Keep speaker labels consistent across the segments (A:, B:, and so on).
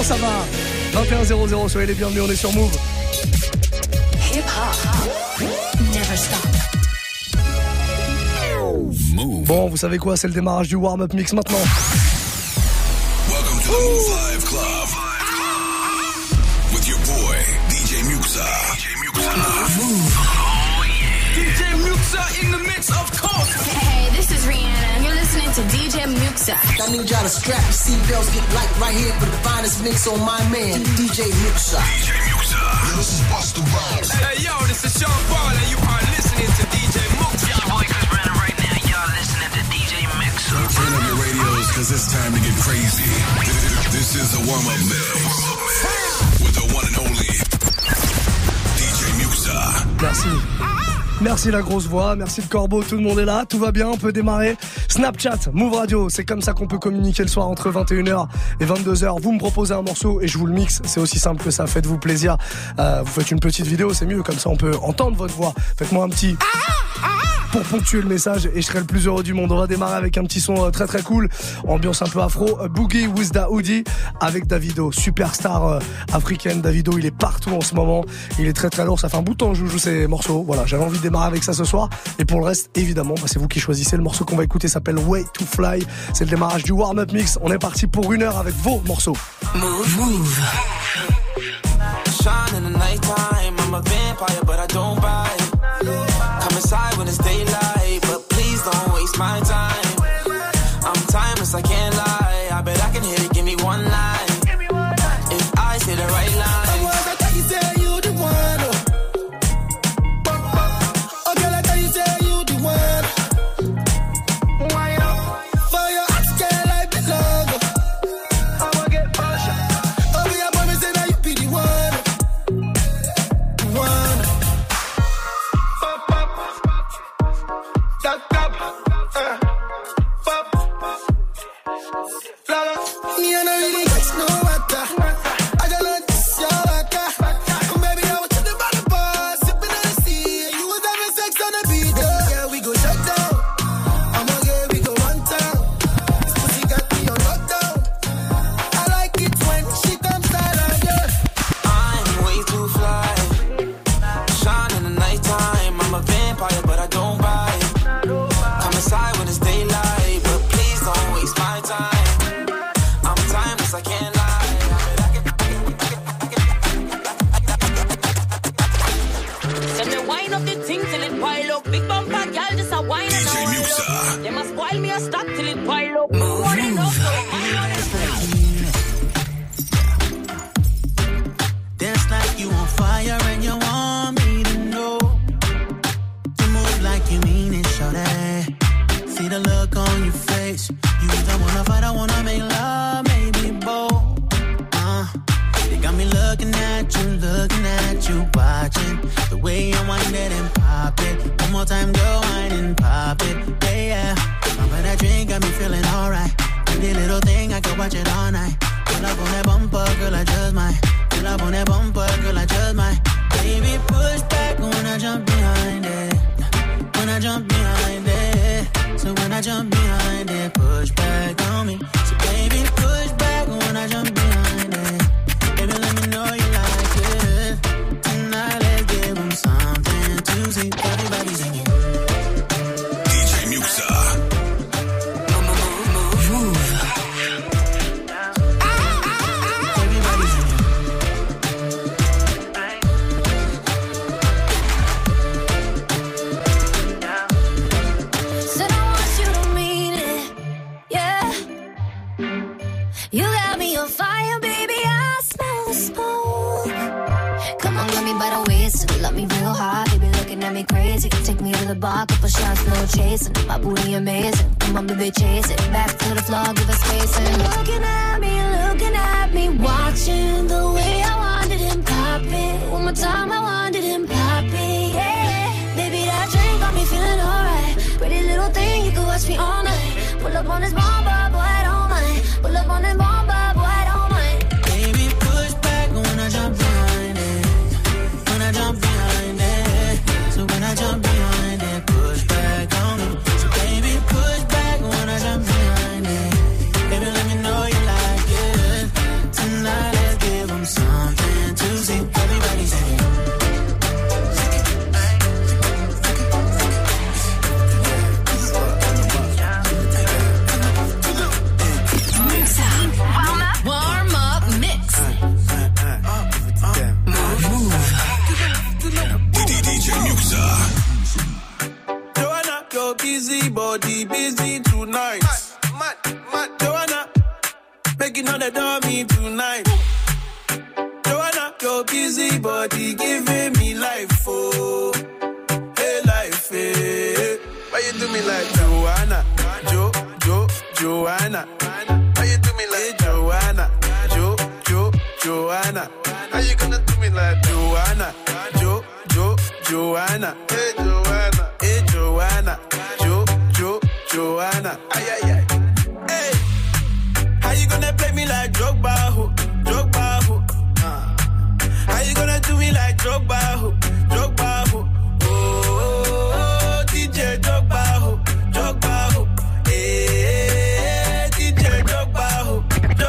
A: ça va? 21-0-0, soyez les bienvenus, on est sur Move.
B: Hip hop, never stop.
A: Bon, vous savez quoi, c'est le démarrage du warm-up mix maintenant.
C: Welcome to the Move Live Club with your boy DJ Muxa.
D: DJ Muxa in the mix, of course.
B: Hey, this is Rihanna. You're listening to DJ Muxa.
E: I need y'all to strap your seatbelts, get light right here for the finest mix on my man, DJ Muxa.
C: DJ Muxa. Yo, this is Busta Rhymes.
D: Hey, yo, this is Sean Paul, and you are listening to DJ Muxa.
F: Your boy Chris Brandon right now. Y'all listening to DJ Muxa.
C: Turn up your radios, cause it's time to get crazy. This is a warm-up mix with the one and only DJ Muxa.
A: Merci. Merci la grosse voix, merci le corbeau, tout le monde est là, tout va bien, on peut démarrer. Snapchat, Move Radio, c'est comme ça qu'on peut communiquer le soir entre 21h et 22h. Vous me proposez un morceau et je vous le mixe, c'est aussi simple que ça, faites-vous plaisir. Vous faites une petite vidéo, c'est mieux, comme ça on peut entendre votre voix. Faites-moi un petit... pour ponctuer le message et je serai le plus heureux du monde. On va démarrer avec un petit son très très cool, ambiance un peu afro, Boogie with Da Hoodie avec Davido, superstar africaine. Davido, il est partout en ce moment, il est très très lourd, ça fait un bout de temps que je joue ces morceaux. Voilà, j'avais envie de démarrer avec ça ce soir et pour le reste, évidemment, c'est vous qui choisissez. Le morceau qu'on va écouter s'appelle Way to Fly, c'est le démarrage du warm-up mix. On est parti pour 1 heure avec vos morceaux.
F: Move.
G: Shine in the nighttime, I'm a vampire but I don't bite. Come inside when it's daylight, but please don't waste my time. I'm timeless, I can't lie. I bet I can hit it, give me one line. If I say the right line.
H: Tonight
G: your busy body busy tonight. Mad, Joanna, making all the dummy tonight. Joanna, your busy body giving me life, oh, hey life, hey. Why you do me like Joanna, Joanna? Why you do me like Joanna, Joanna? How you gonna do me like Joanna, Joanna? Hey Joanna, Joanna. Ay ay ay. Hey, how you gonna play me like Drogba, ho? How you gonna do me like Drogba, ho? Oh, DJ Drogba, ho. Hey, DJ Drogba, ho.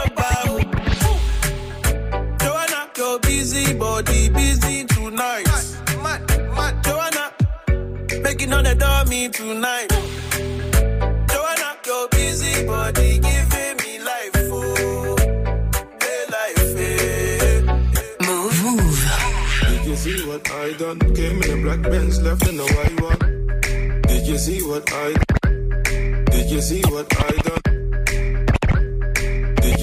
G: Joanna, your busy body busy tonight. Mad, Joanna, making all the dummy tonight. Joanna, your busy body giving me life, oh, hey life, hey.
H: Move. Did you see what I done? Came in a black Benz, left in a white one. Did you see what I done? Did you see what I done? Did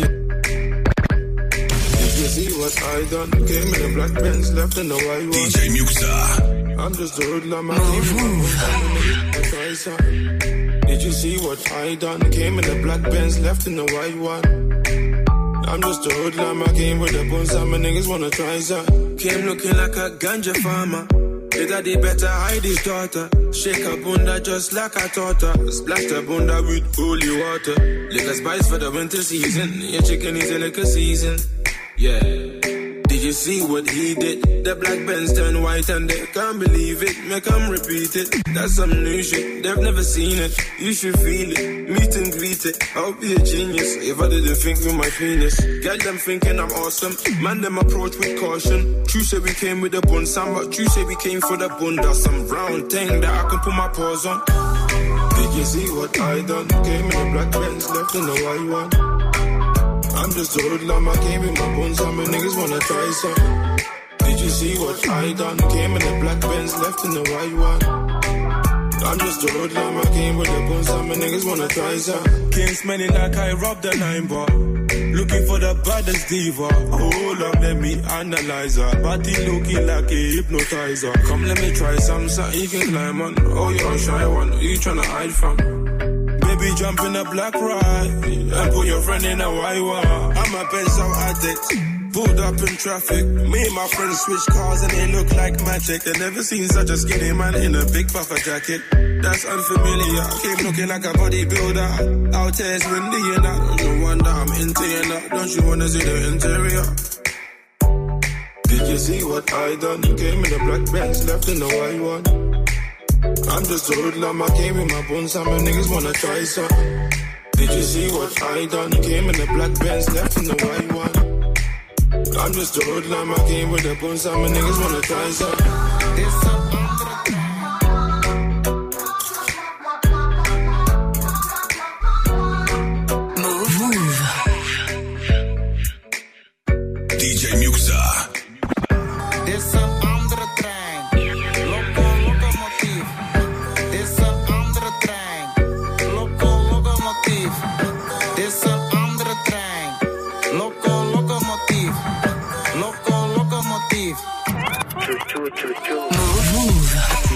H: you see what I done? Came in a black Benz, left in a white one.
C: DJ Muxxa.
H: I'm just a hoodlum, I came in a try something. Did you see what I done? Came in a black Benz, left in a white one. I'm just a hoodlum, I came with a bun, some niggas wanna try something.
G: Came looking like a ganja farmer. His daddy better hide his daughter. Shake a bunda just like I taught her. Splash the bunda with holy water. Liquor spice for the winter season. Your chicken is a liquor season. Yeah. Did you see what he did? The black Benz turned white and they can't believe it. Make them repeat it. That's some new shit. They've never seen it. You should feel it. Meet and greet it. I'll be a genius if I didn't think with my penis. Get them thinking I'm awesome. Man, them approach with caution. True say we came with a bun, Sam, but true say we came for the bun. That's some round thing that I can put my paws on.
H: Did you see what I done? Came in a black Benz, left in a white one. I'm just a hoodlum, I came with my bones, some niggas wanna try some. Did you see what I done? Came in a black Benz, left in the white one. I'm just a hoodlum, I came with the bones, some niggas wanna try some.
G: Came smelling like I robbed a 9 bar. Looking for the baddest diva. Hold on, let me analyze her. Body looking like a hypnotizer. Come, let me try something you can climb on. Oh, you're a shy one, who you tryna hide from? Baby, jump in a black ride and put your friend in a white one. I'm a pencil addict, pulled up in traffic. Me and my friends switch cars and they look like magic. They never seen such a skinny man in a big puffer jacket. That's unfamiliar. Came looking like a bodybuilder. Out here it's windy and I don't wonder I'm into you now. Don't you wanna see the interior?
H: Did you see what I done? Came in a black Benz, left in a white one. I'm just a hoodlum, I came with my bones, some niggas wanna try some. Did you see what I done? Came in a black Benz, left in the white one. I'm just a hoodlum, I came with the bones, some niggas wanna try some. This
C: Move. DJ Muxxa.
I: This andere trein. Locomotief. Dit is een andere trein. Locomotief. Dit is een andere trein. Locomotief. Locomotief. Move.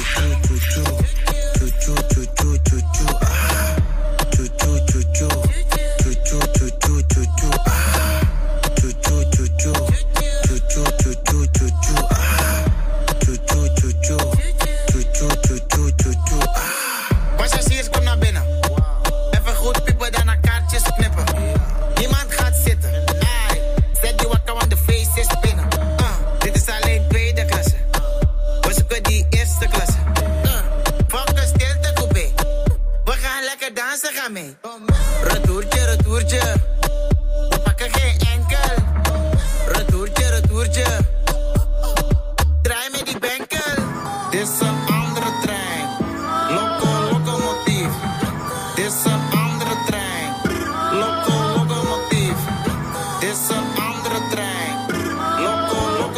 J: Passagiers, kom naar binnen. Even goed piepen, dan een kaartjes knippen. Niemand gaat zitten. Ai, zet die wakker, want de feest is binnen. Dit is alleen tweede klasse. We zoeken die eerste klasse. Fuck een stilte coupé. We gaan lekker dansen, ga mee. Retourtje, retourtje. We pakken geen enkel. Retourtje, retourtje. Draai met die benkel.
I: Dit is een andere trein. Locomotief. Dit is een andere trein. Locomotief. Dit is een andere trein.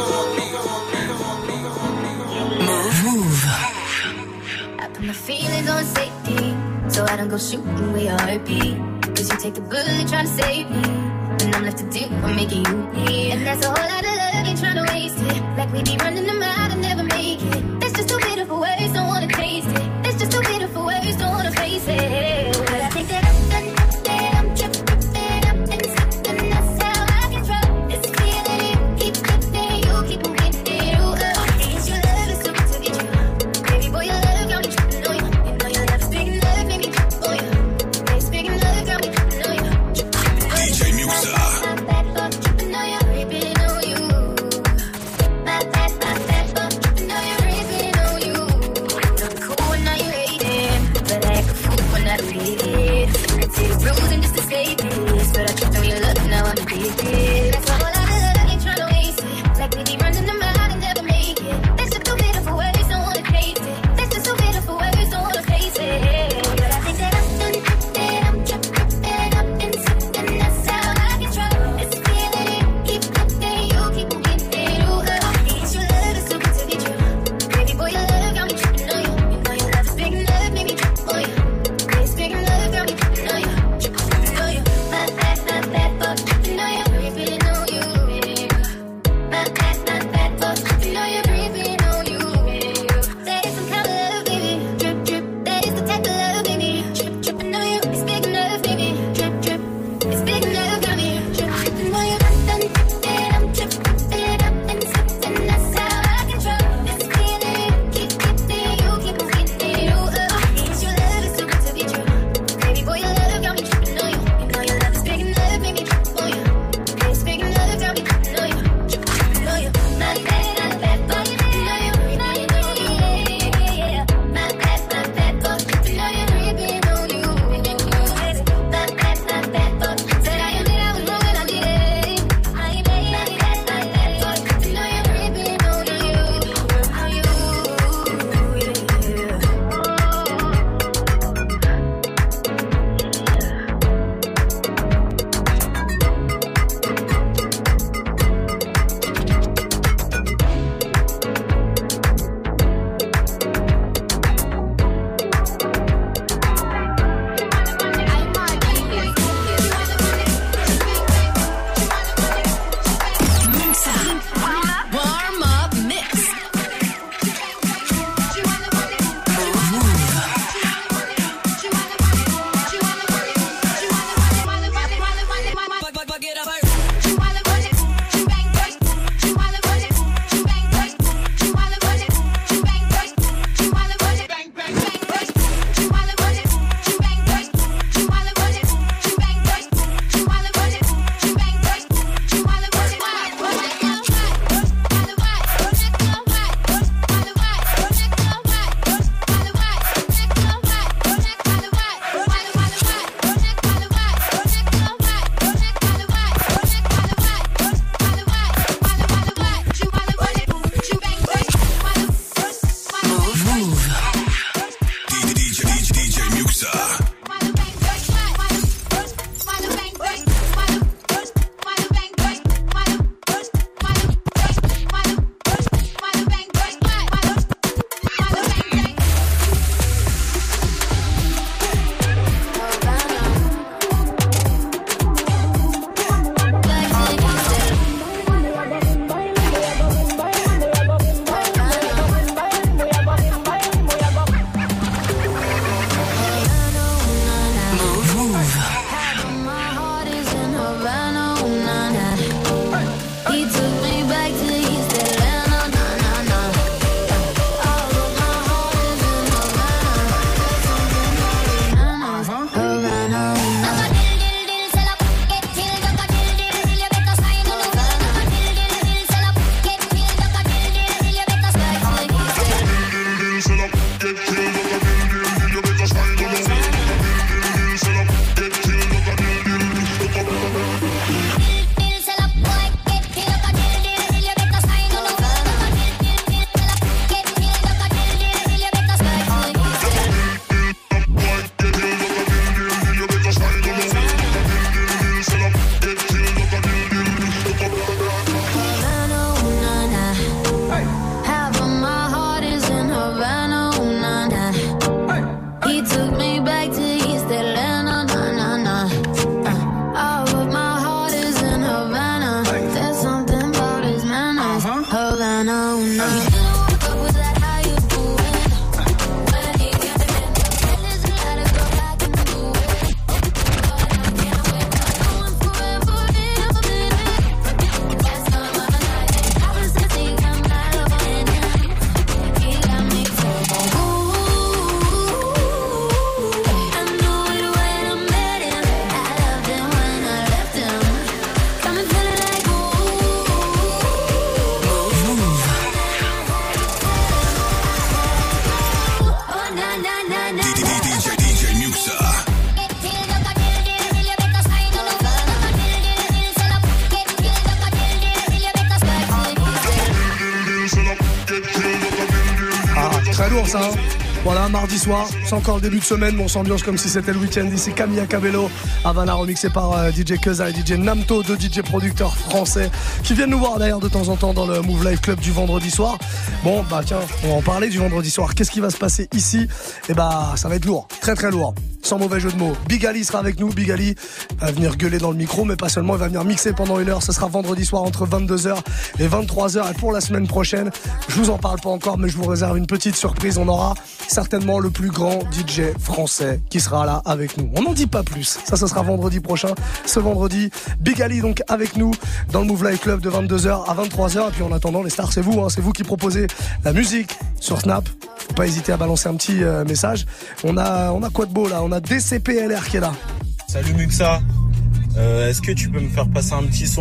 I: Locomotief.
B: I put my feelings on
K: on safety, so I don't go shooting where your heart be. Cause you take the bullet trying to save me, and I'm left to do what making you bleed. And that's a whole lot of love, ain't trying to waste it. Like we be running them out and never make it. That's just too bitter for words, don't wanna taste it. That's just too bitter for words, don't wanna face it. But I think that I'm tripping up and slipping, that's how I control. It's clear that you keep slipping, you keep on getting you up. It's your love, it's stupid to get you. Baby boy, your love got me tripping on you. You know your love is big enough, make me trip on you. It's big enough, got me tripping on you.
C: DJ Muxa.
K: Tripping on you, tripping on you. My bad, tripping on you, tripping he took me back to East Atlanta. Nah, nah, nah. Oh, but my heart is in Havana. There's something about his manners. Havana, oh no. You didn't walk up with that, how you doing? When he came in, let's let it go back and do it. But I can't wait, I'm going forever in a minute. That's not my night. I was just thinking my love in him. He got me feeling ooh. I knew it when I met him. I loved him when I left him. Got me feeling like ooh. Oh na na na na.
C: DJ Muxa.
A: Ah, très lourd ça. Hein. Voilà, mardi soir, c'est encore le début de semaine, mais on s'ambiance comme si c'était le week-end. Ici Camilla Cabello, Havana, remixé par DJ Keza et DJ Namto, deux DJ producteurs français qui viennent nous voir d'ailleurs de temps en temps dans le Move Live Club du vendredi soir. Bon, bah tiens, on va en parler du vendredi soir. Qu'est-ce qui va se passer ici? Et bah, ça va être lourd, très très lourd. Sans mauvais jeu de mots. Big Ali sera avec nous. Big Ali va venir gueuler dans le micro, mais pas seulement, il va venir mixer pendant une heure. Ce sera vendredi soir entre 22h et 23h. Et pour la semaine prochaine, je vous en parle pas encore, mais je vous réserve une petite surprise. On aura certainement le plus grand DJ français qui sera là avec nous. On n'en dit pas plus. Ça sera vendredi prochain. Ce vendredi, Big Ali donc avec nous dans le Move Live Club de 22h à 23h. Et puis en attendant, les stars, c'est vous. Hein, c'est vous qui proposez la musique sur Snap. Faut pas hésiter à balancer un petit message. On a quoi de beau là? On a DCPLR qui est là.
L: Salut Muxa. Est-ce que tu peux me faire passer un petit son?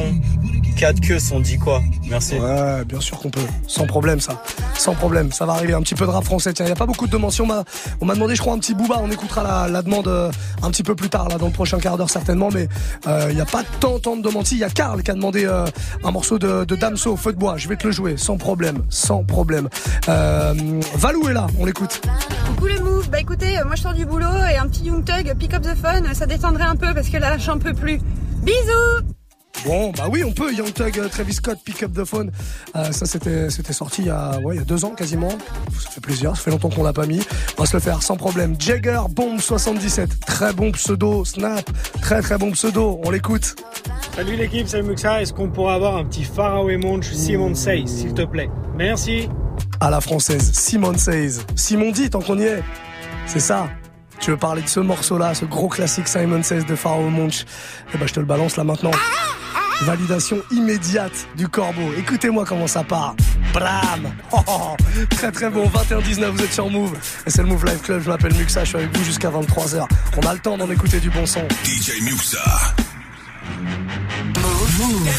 L: 4 queues, on dit quoi? Merci.
A: Ouais, bien sûr qu'on peut. Sans problème, ça. Sans problème. Ça va arriver. Un petit peu de rap français. Tiens, il n'y a pas beaucoup de demandes. On m'a demandé, je crois, un petit Booba. On écoutera la demande un petit peu plus tard, là, dans le prochain quart d'heure, certainement. Mais il n'y a pas tant de demandes. Il y a Karl qui a demandé un morceau de Damso, Feu de bois. Je vais te le jouer. Sans problème. Sans problème. Valou est là. On l'écoute.
M: Coucou le Move. Bah écoutez, moi je sors du boulot et un petit Young Thug, Pick Up the Phone, ça détendrait un peu parce que là, j'en peux plus. Bisous!
A: Bon, bah oui, on peut. Young Thug, Travis Scott, Pick Up the Phone. Ça, c'était sorti il y a 2 ans quasiment. Ça fait plaisir. Ça fait longtemps qu'on l'a pas mis. On va se le faire sans problème. Jagger, Bomb 77. Très bon pseudo. Snap. Très très bon pseudo. On l'écoute.
N: Salut l'équipe, salut Muxa. Est-ce qu'on pourra avoir un petit Faraway Monch Simon Says, s'il te plaît? Merci.
A: À la française, Simon Says. Simon dit, tant qu'on y est. C'est ça. Tu veux parler de ce morceau-là, ce gros classique Simon Says de Pharoah Monch? Eh ben, je te le balance là maintenant. Validation immédiate du Corbeau. Écoutez-moi comment ça part. Bram. Très très bon. 21-19, vous êtes sur Move. Et c'est le Move Live Club. Je m'appelle Muxa, je suis avec vous jusqu'à 23h. On a le temps d'en écouter du bon son.
C: DJ Muxa.
G: Move.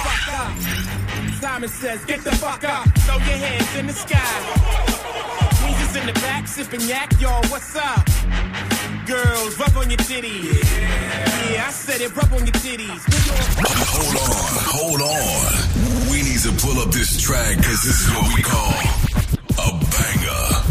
G: Simon says, get the fuck up, throw your hands in the sky. Weezer's in the back, sipping yak, y'all, what's up? Girls, rub on your titties. Yeah, I said it, rub on your titties.
C: Hold on. We need to pull up this track, cause this is what we call a banger.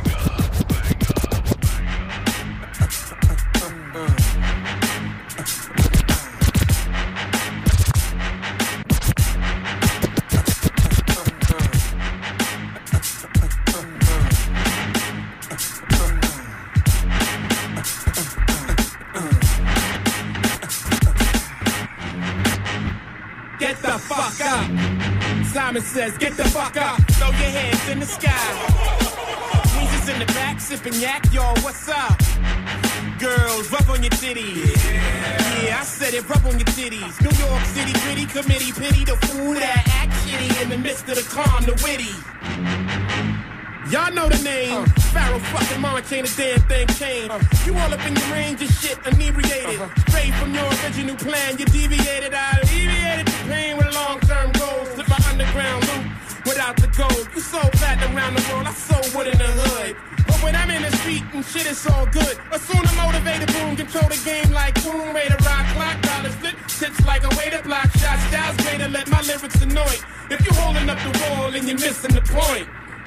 G: Simon says, get the fuck up, throw your hands in the sky. Weezer's in the back, sipping yak, y'all, what's up? Girls, rub on your titties. Yeah, I said it, rub on your titties. New York City, gritty committee, pity the fool that act shitty in the midst of the calm, the witty. Y'all know the name. Pharaoh fucking mama chain, a damn thing changed. You all up in your range of shit, inebriated. Straight from your original plan, you deviated. I alleviated the pain with long-term goals. Slip my underground loop without the gold. You sold platinum around the world, I sold wood in the hood. But when I'm in the street and shit, it's all good. Assume a motivated boom, control the game like boom. Way to rock, clock, dollars flip, tips like a way to block shots. Styles way to let my lyrics annoy. If you're holding up the wall and you're missing the point.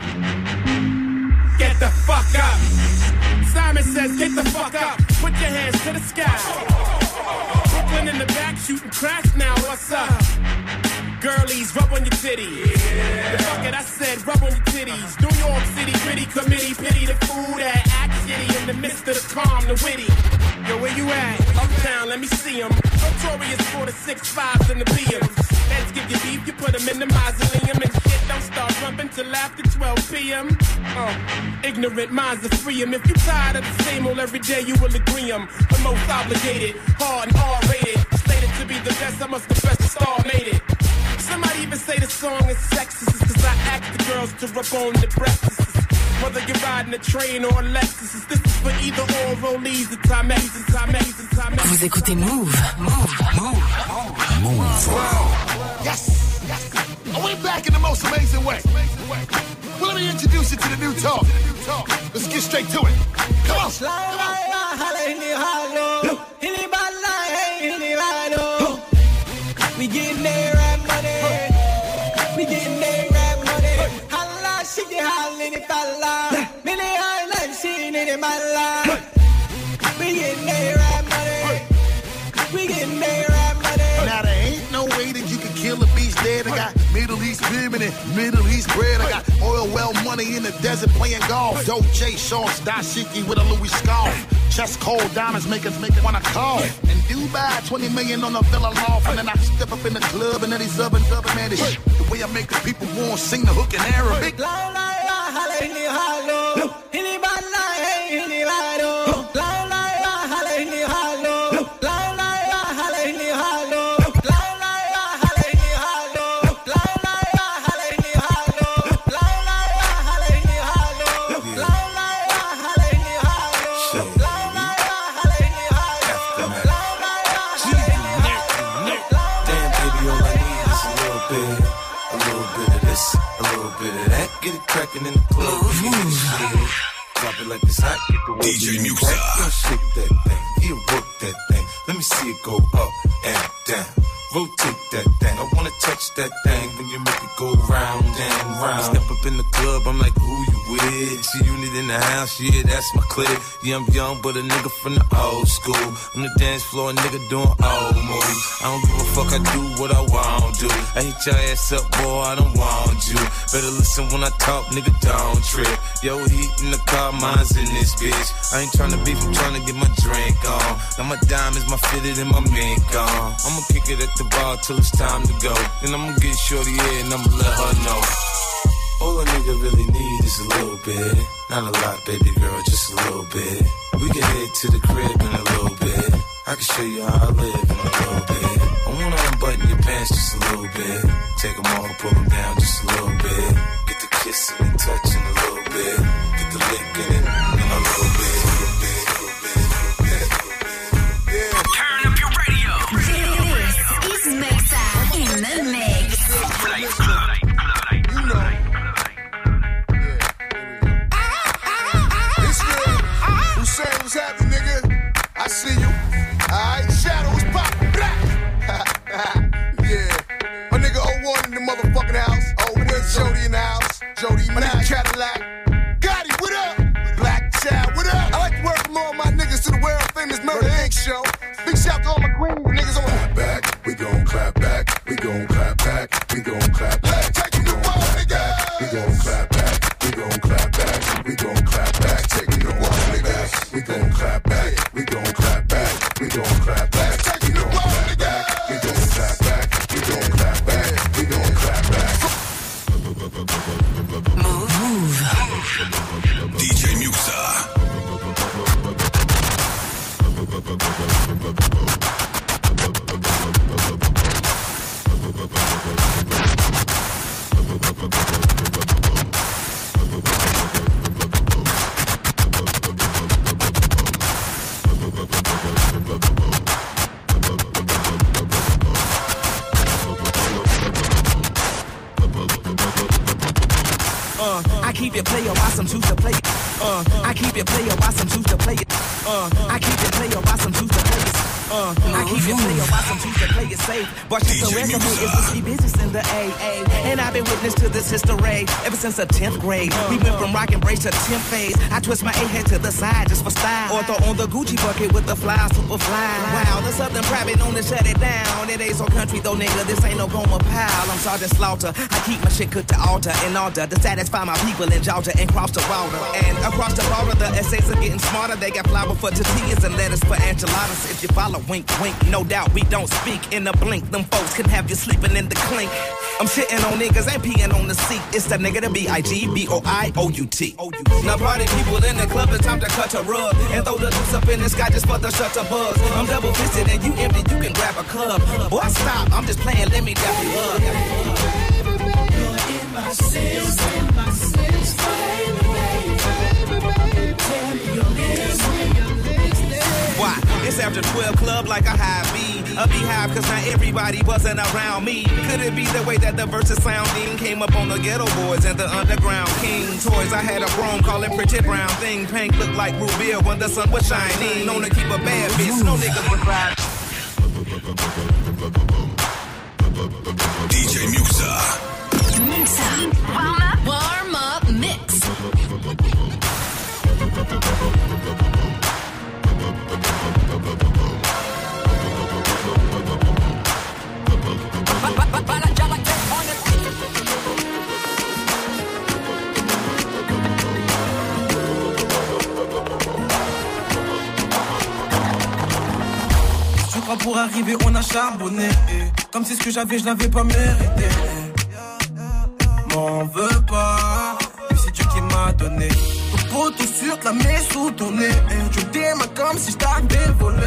G: Get the fuck up. Simon says, get the fuck up. Put your hands to the sky. Brooklyn in the back, shooting crash now, what's up?
O: girlies, rub on your titties. The fuck it, I said, rub on your titties. New York City, gritty committee, pity the fool that act shitty in the midst of the calm, the witty. Yo, where you at? Uptown, let me see 'em. Notorious for the 6'5s and the BMs. Heads give you beef, you put them in the mausoleum. And shit don't start rumping till after 12 p.m. Ignorant minds are free 'em. If you tired of the same old every day, you will agree 'em. The most obligated, hard and R-rated. Slated to be the best, I must confess the star made it. Somebody even say the song is sexist, cause I ask the girls to rub on the breakfast. Whether you're riding a train or a Lexus, this is for either or rollies, the time and
P: Vous écoutez Move. Move.
Q: Yes. Are we back in the most amazing way? Well, let me introduce you to the new talk. Let's get straight to it. Come on.
R: We getting there at money. We getting there at money. Holla, she get hollin' if I lie. Many highlights seen it in my life. We getting there at money. We getting there at money.
Q: Now there ain't no way that you can kill a beast dead. I got Middle East women and Middle East bread. I got oil well money in the desert playing golf. Dolce shorts, dashiki with a Louis scarf. Chest cold diamonds make us wanna call. In Dubai, 20 million on a villa loft. And then I step up in the club and then these other man is shit. The way I make the people want to sing the hook in Arabic.
G: Get it crackin' in the club. Drop it like it's hot. Get the
C: DJ Muxa.
G: Shake that thing. You work that thing. Let me see it go up and down. Rotate that thing. I wanna touch that thing when you make it go round and round. I step up in the club, I'm like, who you with? She unit in the house, yeah, that's my clique. Yeah, I'm young, but a nigga from the old school. On the dance floor, a nigga doing old moves. I don't give a fuck, I do what I want to. I hit your ass up, boy, I don't want you. Better listen when I talk, nigga, don't trip. Yo, heat in the car, mine's in this bitch. I ain't tryna beef, I'm tryna get my drink on. Now my diamonds, my fitted, and my mink on. I'ma kick it at the bar till it's time to go. Then I'ma get shorty here and I'ma let her know. All a nigga really need is a little bit. Not a lot, baby girl, just a little bit. We can head to the crib in a little bit. I can show you how I live in a little bit. I wanna unbutton your pants just a little bit. Take them off, pull them down just a little bit. Get the kissing and touching a little bit. Get the licking in a little bit.
P: Turn up your radio. This is Muxa in the mix.
Q: You know. It's real. Hussein, what's happening, nigga? I see you. Alright, shadows pop. Yeah. My nigga 01 in the motherfucking house. Oh, where's Jody in the house? Jody, my nigga Cadillac. Gotti, what up? Black Child, what up? I like to welcome all my niggas to the world famous Murder Inc. show. Big shout to all my queens, niggas on clap back. We gon' clap back. We gon' clap back. We gon' clap back. Taking the ball, nigga. We gon' clap back. We gon' clap back. We gon' clap back. Taking the ball, nigga. We gon' clap back. We gon' clap back. We gon' clap back. Taking the ball, nigga. We gon' clap back. We gon' clap back. We gon' clap back.
P: Move.
C: DJ Muxa.
R: I keep it player, why some choose to play it. I keep it player, why some choose to play it. I keep it player, why some choose to play it.
G: I keep it player, watch them choose to play it safe. Watch the resume is to see business in the AA. And I've been witness to this history ever since the 10th grade. We went from rock and brace to 10th phase. I twist my A-head to the side just for style. Or throw on the Gucci bucket with the fly, super fly. Wow, the Southern private known to shut it down. It ain't so country though, nigga, this ain't no Goma pile. I'm Sergeant Slaughter, I keep my shit cooked to altar in order to satisfy my people in Georgia and cross the water. And across the border, the essays are getting smarter. They got flour for tortillas and lettuce for enchiladas. If you follow, wink, wink, no doubt we don't speak in a blink. Them folks can have you sleeping in the clink. I'm shitting on niggas, ain't peeing on the seat. It's the nigga, the B-I-G-B-O-I-O-U-T. Now party people in the club, it's time to cut a rug and throw the juice up in the sky just for the shutter buzz. I'm double fisted and you empty, you can grab a club. Boy, stop, I'm just playing, let me dap you up. You're in my sense, why? It's after 12 club like a high B. A beehive cause not everybody wasn't around me. Could it be the way that the verses sounding came up on the ghetto boys and the underground king toys? I had a chrome call it pretty brown thing. Pink looked like Rubia when the sun was shining. Known to keep a bad bitch, no niggas was ride.
C: DJ Muxa.
B: Warm up mix.
S: Je crois pour arriver on a charbonné. Comme si ce que j'avais je l'avais pas mérité. M'en veux pas, mais c'est Dieu qui m'a donné. Ton poteau sur la mets sous ton nez. Tu démarres comme si je t'avais volé.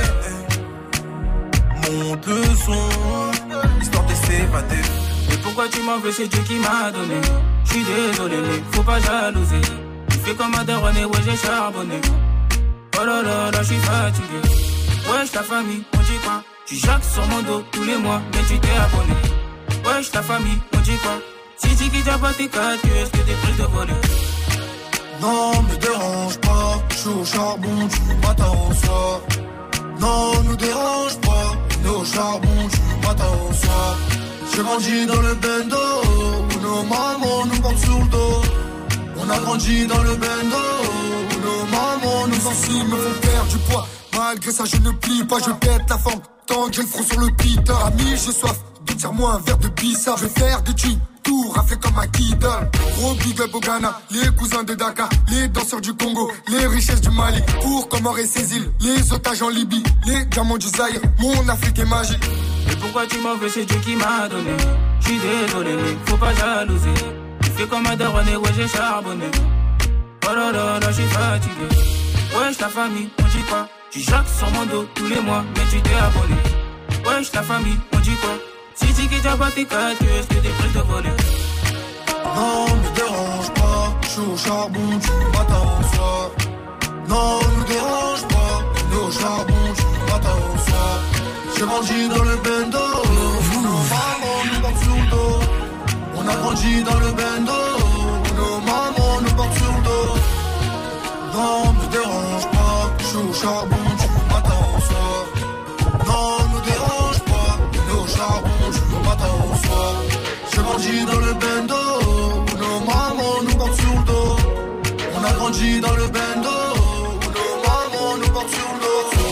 S: Monte le son, histoire de s'évader.
T: Mais pourquoi tu m'en veux, c'est Dieu qui m'a donné. J'suis désolé mais faut pas jalouser. Tu fais comme un daronné, ouais j'ai charbonné. Oh là là là, j'suis fatigué. Wesh ta famille, on dit quoi? Tu jacques sur mon dos tous les mois, mais tu t'es abonné. Wesh ta famille, on dit quoi? Si tu quittes pas tes 4 est-ce que t'es prêt de voler?
S: Non, me dérange pas, j'suis au charbon du matin au soir. Non, nous dérange pas, on est au charbon du matin au soir. J'ai grandi dans le bendo, où nos mamans nous portent sur le dos. On a grandi dans le bendo, où nos mamans nous enseignent, me font perdre du poids. Malgré ça, je ne plie pas, je pète la forme. Tant que j'ai le front sur le pita, ami, j'ai soif. Tire-moi un verre de pissa, je vais faire des tunes. Tout raflé comme un Kida. Gros big up au Ghana, les cousins de Dakar, les danseurs du Congo, les richesses du Mali, pour Comores et ses îles, les otages en Libye, les diamants du Zaïre, mon Afrique est magique.
T: Mais pourquoi tu m'en veux, c'est Dieu qui m'a donné. J'suis désolé mais faut pas jalouser. Tu fais comme un daronné, ouais j'ai charbonné. Oh là là là, j'suis fatigué. Wesh ta famille, on dit quoi? Tu jacques sur mon dos tous les mois, mais tu t'es abonné. Wesh ta famille, on dit quoi? Si tu quittes pas tes 4 est-ce que t'es prêt de voler?
S: Non, me dérange pas, j'suis au charbon du matin au soir. Non, me dérange pas, on est au charbon du matin au soir. J'ai grandi dans le bendo, nos mamans nous portent sur le dos. On a grandi dans le bendo, nos mamans nous portent sur le dos. Non, me dérange pas, j'suis au charbon du matin au soir. Non, me dérange pas, on est au charbon du matin au soir. J'ai grandi dans le bendo, nos mamans nous portent sur le dos. On a grandi dans le bendo, nos mamans nous portent sur le dos.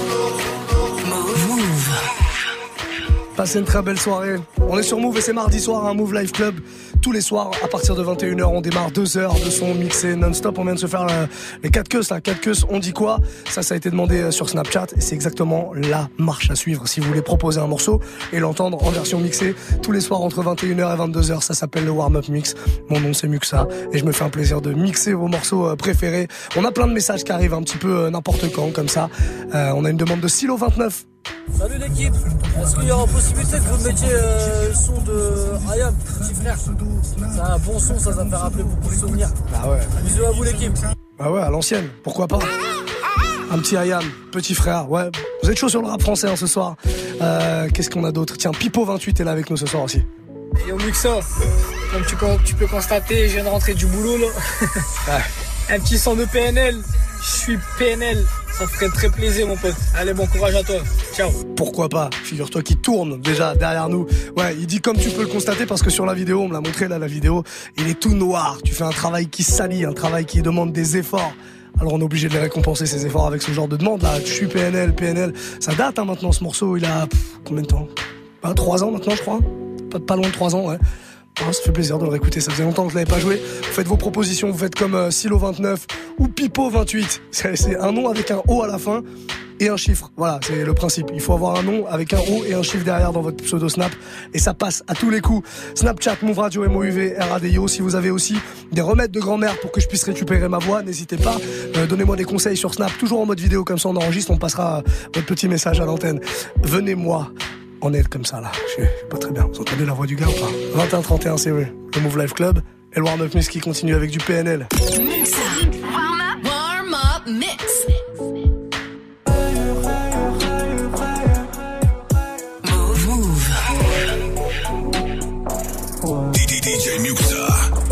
A: Passez une très belle soirée. On est sur Move et c'est mardi soir, un Move Live Club. Tous les soirs, à partir de 21h, on démarre 2 heures de son mixé non-stop. On vient de se faire les 4 queues, là. 4 queues, on dit quoi? Ça a été demandé sur Snapchat et c'est exactement la marche à suivre si vous voulez proposer un morceau et l'entendre en version mixée tous les soirs entre 21h et 22h. Ça s'appelle le warm-up mix. Mon nom c'est Muxa et je me fais un plaisir de mixer vos morceaux préférés. On a plein de messages qui arrivent un petit peu n'importe quand comme ça. On a une demande de Silo29.
U: Salut l'équipe, est-ce qu'il y aura possibilité que vous mettiez le son de Ayam, petit frère? C'est un bon son, ça va me faire rappeler beaucoup de souvenirs.
A: Ah ouais.
U: Bisous à vous l'équipe.
A: Bah ouais, à l'ancienne, pourquoi pas. Un petit Ayam, petit frère, ouais. Vous êtes chaud sur le rap français ce soir. Qu'est-ce qu'on a d'autre? Tiens, Pipo28 est là avec nous ce soir aussi.
V: Yo Muxa, comme tu peux constater, je viens de rentrer du boulot là.
A: Ouais.
V: Un petit son de PNL, je suis PNL, Ça ferait très plaisir, mon pote. Allez, bon courage à toi. Ciao.
A: Pourquoi pas? Figure-toi qu'il tourne déjà derrière nous. Ouais, il dit comme tu peux le constater parce que sur la vidéo, on me l'a montré là, la vidéo, il est tout noir. Tu fais un travail qui salit, un travail qui demande des efforts. Alors on est obligé de les récompenser ces efforts avec ce genre de demande là. Je suis PNL. Ça date maintenant ce morceau, il a combien de temps? 3 ans maintenant je crois. Pas loin de 3 ans, ouais. Ah, ça fait plaisir de le réécouter, ça faisait longtemps que je l'avais pas joué. Vous faites vos propositions, vous faites comme Silo29 ou Pipo28. C'est un nom avec un O à la fin et un chiffre. Voilà, c'est le principe. Il faut avoir un nom avec un O et un chiffre derrière dans votre pseudo Snap et ça passe à tous les coups. Snapchat, Move Radio, MOUV, RADIO. Si vous avez aussi des remèdes de grand-mère pour que je puisse récupérer ma voix, n'hésitez pas. Donnez-moi des conseils sur Snap, toujours en mode vidéo, comme ça on enregistre, on passera votre petit message à l'antenne. Venez-moi en aide comme ça là, je suis pas très bien. Vous entendez la voix du gars ou pas? 21-31 c'est vrai, le Move Life Club et le Warm Up Mix qui continue avec du PNL.
B: Warm up mix.
C: Move. DJ Muxa.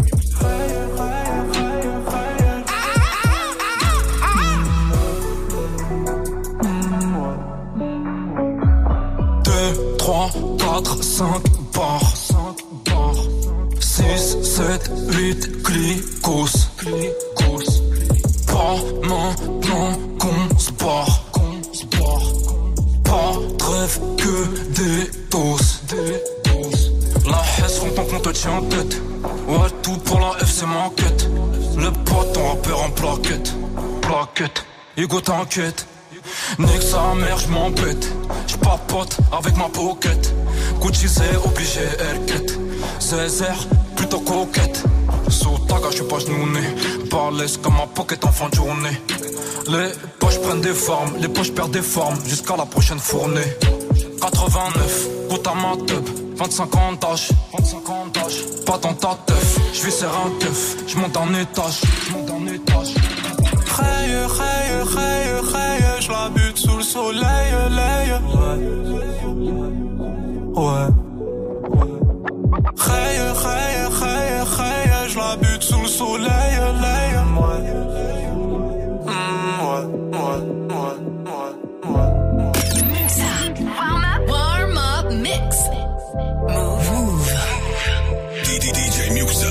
D: Trois, 4, 5 barres 6, 7, 8 clicos Pas maintenant qu'on se barre Pas de rêve que des doses La haisse font tant qu'on te tient en tête. Ouais, tout pour la F c'est ma quête. Le pote ton rappeur en plaquette Hugo t'inquiète. Nique sa mère, j'm'embête. J'papote avec ma pocket. Gucci c'est obligé, elle quête. Césaire, plutôt coquette. Sous taga, j'suis pas genouné. Balèze comme ma pocket en fin de journée. Les poches prennent des formes, les poches perdent des formes. Jusqu'à la prochaine fournée. 89, goûte à ma teub. 25 ans d'âge, pas dans ta teuf. J'vis serrer un keuf, j'monte en étage. J'la bute sous le soleil, ouais. J'la bute sous le soleil,
B: Warm up mix. Move.
C: DJ Muxa.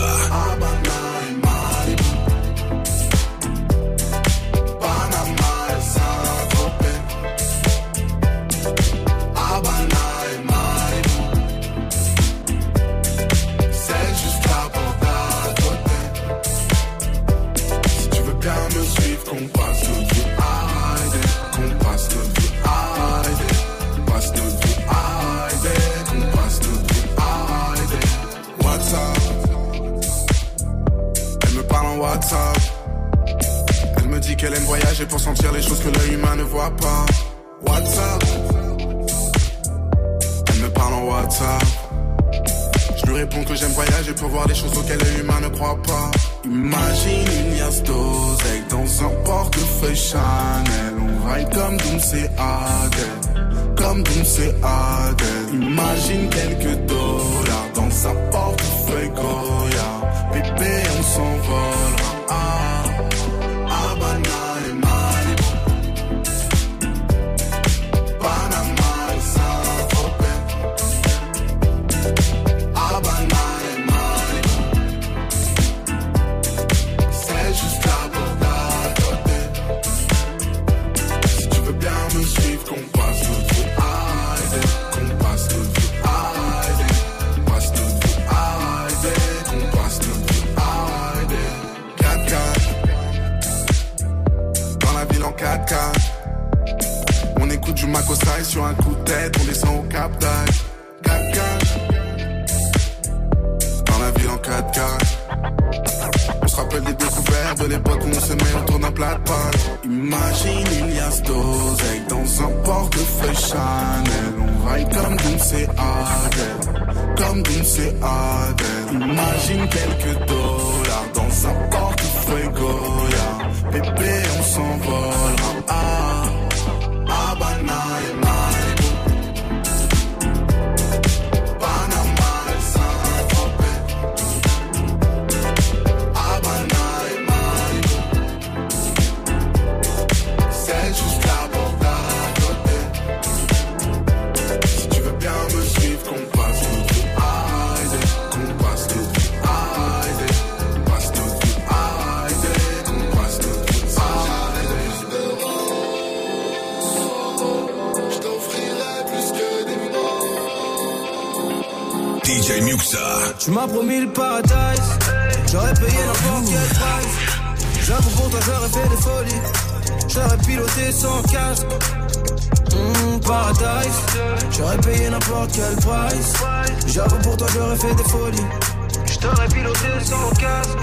H: Elle me dit qu'elle aime voyager pour sentir les choses que l'œil humain ne voit pas. WhatsApp. Elle me parle en WhatsApp. Je lui réponds que j'aime voyager pour voir des choses auxquelles l'œil humain ne croit pas. Imagine une liasse d'oseille dans un portefeuille Chanel. On ride comme Doom's et Adèle. Imagine quelques dollars dans un portefeuille Goya. Bébé, on s'envolera. Habana et Malibu, Panama et Saint-Tropez. Habana et Malibu, c'est juste là pour t'adoter. Si tu veux bien me suivre, qu'on passe le vie Haïdé, qu'on passe le vie Haïdé, qu'on passe le vie Haïdé, qu'on passe le vie Haïdé. 4x4 dans la ville en 4x4. On écoute du Makosai sur un coup de tête, on descend au Cap d'Agde. 4x4 dans la ville en 4x4. On se rappelle des découvertes de l'époque où on se met autour d'un plat de pâtes. Imagine une liasse d'oseille dans un portefeuille Chanel. On ride comme Doom's et Adèle. Imagine quelques dollars dans un portefeuille Goya. Bébé, on s'envolera. Habana et Malibu, Panama et Saint-Tropez. Habana et Malibu, c'est juste
C: DJ Muxa.
E: Tu m'as promis le paradise, j'aurais payé n'importe quel price. J'avoue pour toi j'aurais fait des folies, j'aurais piloté sans casque. Paradise, j'aurais payé n'importe quel price. J'avoue pour toi j'aurais fait des folies, j't'aurais piloté sans casque.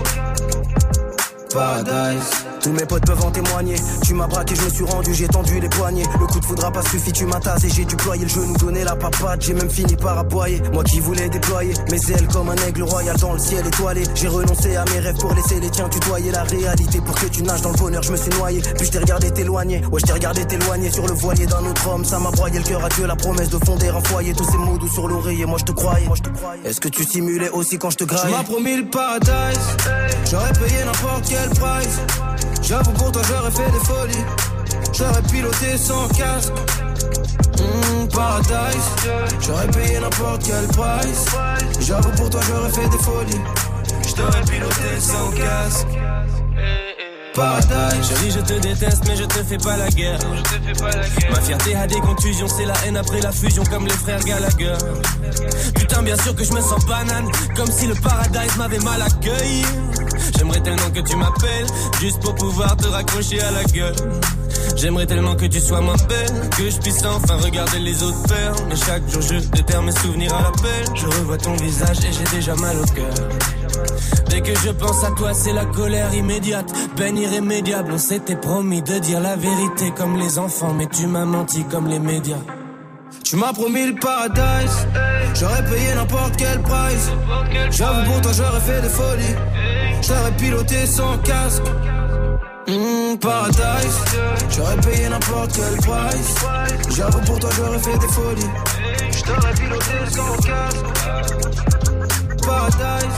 E: Paradise. Tous mes potes peuvent en témoigner. Tu m'as braqué, je me suis rendu, j'ai tendu les poignets. Le coup de foudre a pas suffi, tu m'as tasé. J'ai déployé le genou, donné la papade. J'ai même fini par aboyer. Moi qui voulais déployer mes ailes comme un aigle royal dans le ciel étoilé. J'ai renoncé à mes rêves pour laisser les tiens tutoyer la réalité. Pour que tu nages dans le bonheur, je me suis noyé. Puis je t'ai regardé t'éloigner. Ouais, je t'ai regardé t'éloigner sur le voilier d'un autre homme. Ça m'a broyé le cœur à Dieu, la promesse de fonder un foyer. Tous ces mots doux sur l'oreiller, moi je te croyais. Est-ce que tu simulais aussi quand je te graillais? Tu m'as promis le paradise, j'aurais payé n'importe quel price. J'avoue pour toi j'aurais fait des folies, j'aurais piloté sans casque. Paradise, j'aurais payé n'importe quel price. J'avoue pour toi j'aurais fait des folies, j'aurais piloté sans casque. Paradise.
F: Chérie, je te déteste, mais je te fais pas la guerre. Ma fierté a des contusions, c'est la haine après la fusion, comme les frères Gallagher. Putain, bien sûr que je me sens banane, comme si le paradise m'avait mal accueilli. J'aimerais tellement que tu m'appelles, juste pour pouvoir te raccrocher à la gueule. J'aimerais tellement que tu sois moins belle, que je puisse enfin regarder les autres faire. Mais chaque jour je déterre mes souvenirs à l'appel. Je revois ton visage et j'ai déjà mal au cœur. Dès que je pense à toi, c'est la colère immédiate, peine irrémédiable. On s'était promis de dire la vérité comme les enfants, mais tu m'as menti comme les médias.
E: Tu m'as promis le paradise, j'aurais payé n'importe quel price. J'avoue pour toi j'aurais fait des folies, j'aurais piloté sans casque. Paradise, j'aurais payé n'importe quel price. J'avoue pour toi j'aurais fait des folies, j'aurais piloté sans casque. Paradise.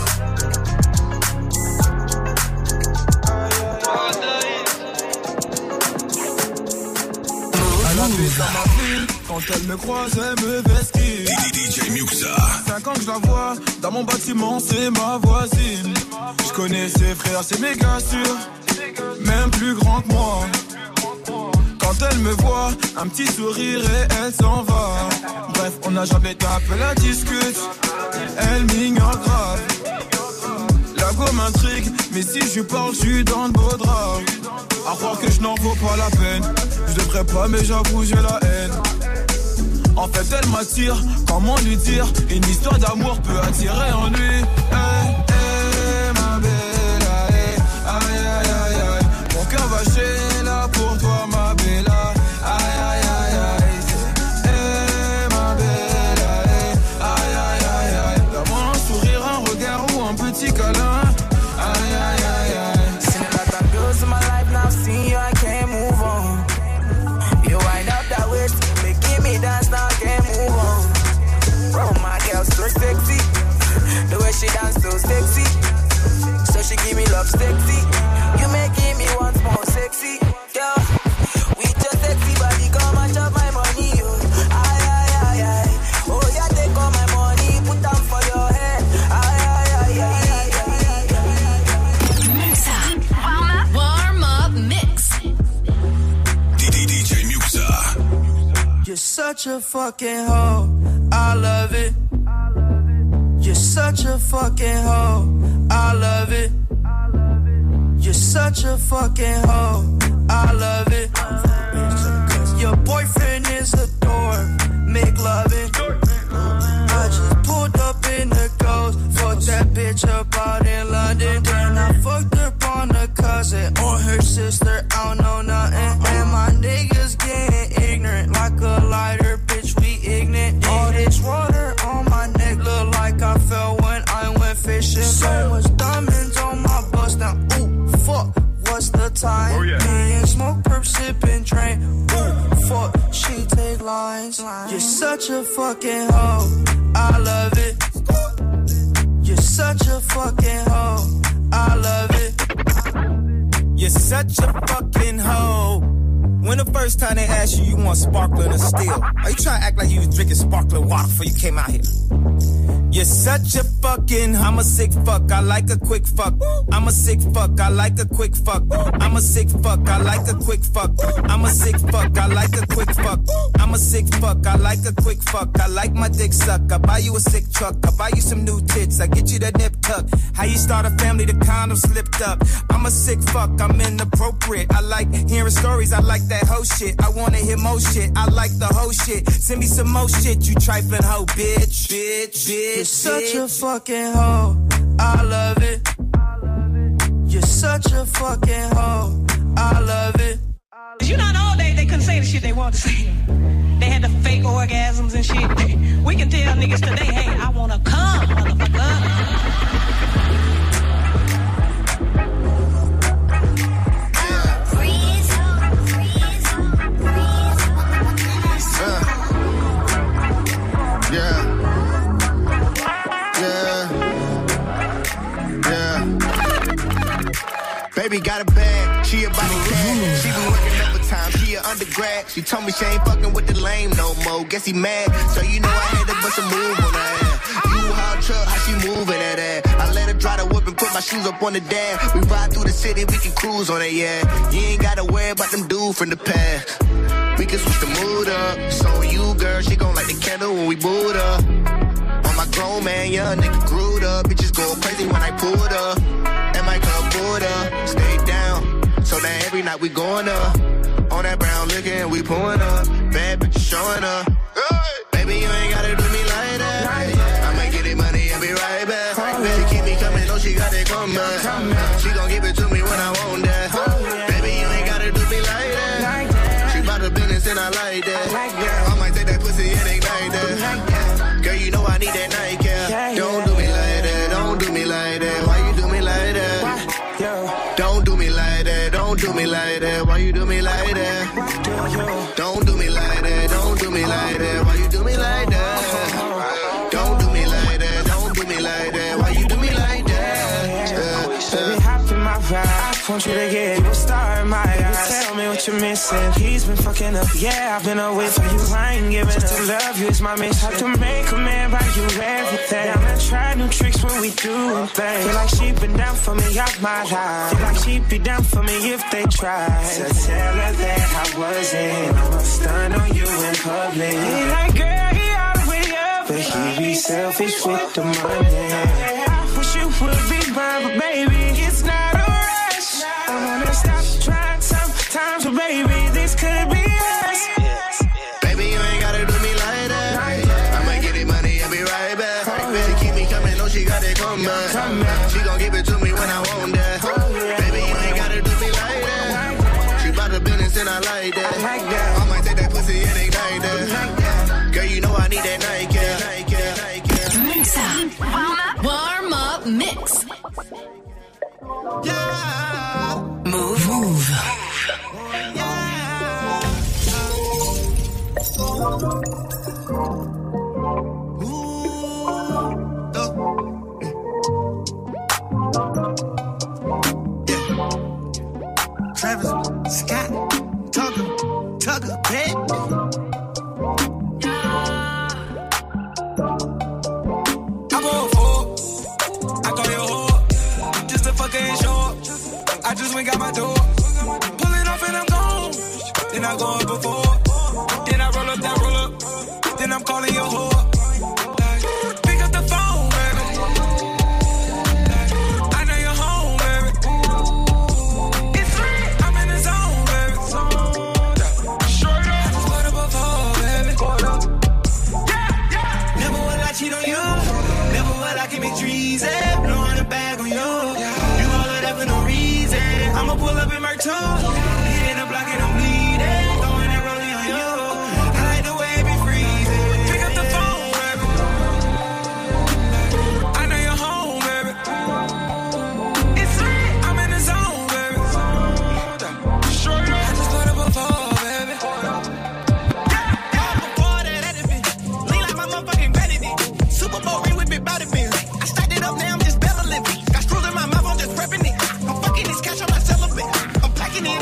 H: Elle a fait dans ma ville, quand elle me croise, elle me vesquille.
C: DJ Muxa.
H: 5 ans que je la vois, dans mon bâtiment, c'est ma voisine. Je connais ses frères, c'est méga sûr, même plus grand que moi. Quand elle me voit, un petit sourire et elle s'en va. Bref, on n'a jamais tapé la discute, elle m'ignore grave. La go m'intrigue, mais si je lui parle, je suis dans le beau drap. À croire que je n'en vaux pas la peine. Je devrais pas, mais j'avoue, j'ai la haine. En fait, elle m'attire, comment lui dire? Une histoire d'amour peut attirer en lui. Hey, hey, ma belle, hey, aïe, aïe, aïe, aïe. Mon cœur va chez là pour toi, ma belle, aïe, aïe, aïe, aïe. Hey, ma belle, hey, aïe, aïe, aïe, aïe. Donne-moi un sourire, un regard ou un petit câlin. Aïe, aïe, aïe, aïe.
J: Seen a lot of girls in my life now, see you, I can't move on. You wind up that waist, making me dance now, I can't move on. Bro, my girl's so sexy, the way she dance so sexy. So she give me love sexy, you making me once more sexy. Girl, with your sexy body, come and chop my money, yo. Aye, aye, aye, aye. Oh, yeah, take all my money, put them for your head. Aye, aye, aye, aye,
P: Warm up mix.
C: DJ Muxa.
E: You're such a fucking hoe, I love it. You're such a fucking hoe, I love it. You're such a fucking hoe, I love it. Your boyfriend is a dork, make loving. I just pulled up in the ghost, fucked that bitch up out in London. Then I fucked up on her cousin or her sister, I don't know nothing. And my niggas getting ignorant like a lighter, bitch, we ignorant. All this water on my neck look like I fell when I went fishing. So much diamonds on my bust now, ooh, fuck, what's the time? Oh, yeah. Me and smoke, perp, sippin', drain, ooh, fuck, she take lines. You're such a fucking hoe, I love it. You're such a fucking hoe, I love it.
W: You're such a fucking hoe. When the first time they asked you, you want sparkling or still? Are you trying to act like you was drinking sparkling water before you came out here? You're such a fucking, I'm a sick fuck, I like a quick fuck. I'm a sick fuck, I like a quick fuck. I'm a sick fuck, I like a quick fuck. I'm a sick fuck, I like a quick fuck. I'm I'm a sick fuck, I like a quick fuck, I like my dick suck. I buy you a sick truck, I buy you some new tits, I get you that nip tuck. How you start a family, the condom slipped up. I'm a sick fuck, I'm inappropriate. I like hearing stories, I like that whole shit. I wanna hear more shit, I like the whole shit. Send me some more shit, you trifling hoe, bitch, bitch, bitch.
E: You're such a fucking hoe, I love it. You're such a fucking hoe, I love it.
I: You know, in the old days, they couldn't say the shit they wanted to say. They had the fake orgasms and shit. We can tell niggas today, hey, I wanna come, motherfucker.
K: Baby got a bag, she about to cash. She been working overtime, she an undergrad. She told me she ain't fucking with the lame no more. Guess he mad, so you know I had to bust a move on her ass. You hard truck, how she moving that ass. I let her dry the whip and put my shoes up on the dash. We ride through the city, we can cruise on it, yeah. You ain't gotta worry about them dudes from the past. We can switch the mood up. So on you, girl, she gon' light the candle when we boot up. On my grown man, young nigga grewed up. Bitches go crazy when I pulled up. And my club pulled up, stay down. So now every night we going up. On that brown liquor and we pulling up. Bad bitches showing up. Baby, you ain't gotta do me like that. I'ma get it money and be right back. She keep me coming, know she got it coming. She gon' give it to me when I want that. Baby, you ain't gotta do me like that. She bout the business and I like that. I might take that pussy and ignite that. Girl, you know I need that night, yeah. Don't do me like that, don't do me like that. Why you do me like that? Don't do me like that, don't do me like that. Why you do me like that? Don't do me like that, don't do me like that. Why you do me like that? Don't do me like that, don't do me like that. Why you do me like that?
L: Baby, hop in my ride. I want you to get you a star in my eyes. Tell me what you're missing. He's been fucking up, yeah, I've been away from you. I ain't giving up. To love you is my mission. Have to make a man buy you everything. I'm gonna try new tricks when we do things. Feel like she been down for me all my life. Feel like she'd be down for me if they tried. So tell her that I wasn't. I'ma stun on you in public. He like, girl, he already up, but he be selfish with the money. I wish you would be mine, but baby, it's not a rush. I wanna stop trying sometimes, but baby, this could be us.
K: Baby, you ain't gotta do me like that. I'ma get it money and be right back. She keep me coming, know she got it coming. She gon' give it to me when I want that. Baby, you ain't gotta do me like that. She bout the business and I like that. I might take that pussy and ignite that. Girl, you know I need that night, yeah.
B: Mix up. Warm up mix.
E: Yeah.
B: Move.
E: Travis Scott, Tugger, bitch.
W: I go for, I call your whore, just a fucking short. I just went got my door, pulling off and I'm gone. Then I go up before, then I roll up that roll up, then I'm calling your whore. Pick up the phone, baby. I know you're home, baby. It's lit, I'm in the zone, baby. Short up, I just put up before, baby. Never will I cheat on you. Never will I keep it treason. Blowing a bag on you. You all of that for no reason. I'ma pull up in my too. Hitting the block and I'm bleeding. Throwing that rolling on you. I like the way it be freezing. Pick up the phone, baby. I know you're home, baby. It's lit. I'm in the zone, baby. Short up. I just put up before, baby.
E: Before that, at the bitch. Lean like my motherfucking belly did. Super Bowl ring with big body bins. I stacked it up, now I'm just belly living. Got screws in my mouth, I'm just prepping it. I'm fucking this cash on my celibate. I'm packing it